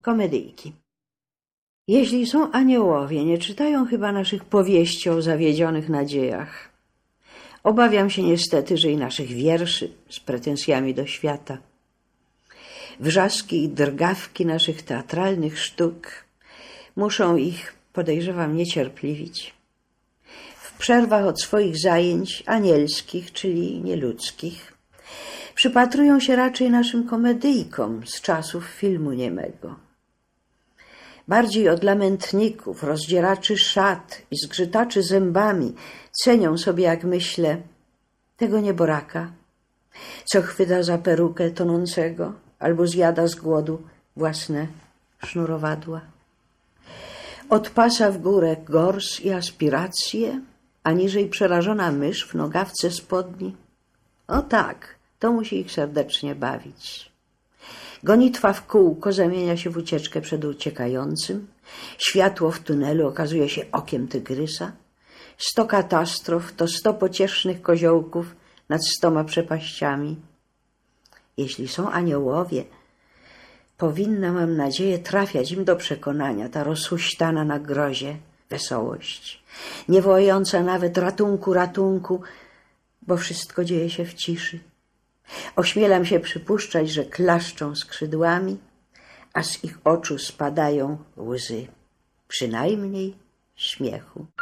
Komedyjki. Jeśli są aniołowie, nie czytają chyba naszych powieści o zawiedzionych nadziejach. Obawiam się niestety, że i naszych wierszy z pretensjami do świata. Wrzaski i drgawki naszych teatralnych sztuk muszą ich, podejrzewam, niecierpliwić. W przerwach od swoich zajęć anielskich, czyli nieludzkich, przypatrują się raczej naszym komedyjkom z czasów filmu niemego. Bardziej od lamentników, rozdzieraczy szat i zgrzytaczy zębami cenią sobie, jak myślę, tego nieboraka, co chwyta za perukę tonącego albo zjada z głodu własne sznurowadła. Od pasa w górę gors i aspiracje, a niżej przerażona mysz w nogawce spodni. O tak, to musi ich serdecznie bawić. Gonitwa w kółko zamienia się w ucieczkę przed uciekającym. Światło w tunelu okazuje się okiem tygrysa. 100 katastrof to 100 pociesznych koziołków nad 100 przepaściami. Jeśli są aniołowie, powinna, mam nadzieję, trafiać im do przekonania ta rozhuśtana na grozie wesołość, nie wołająca nawet ratunku, ratunku, bo wszystko dzieje się w ciszy. Ośmielam się przypuszczać, że klaszczą skrzydłami, a z ich oczu spadają łzy, przynajmniej śmiechu.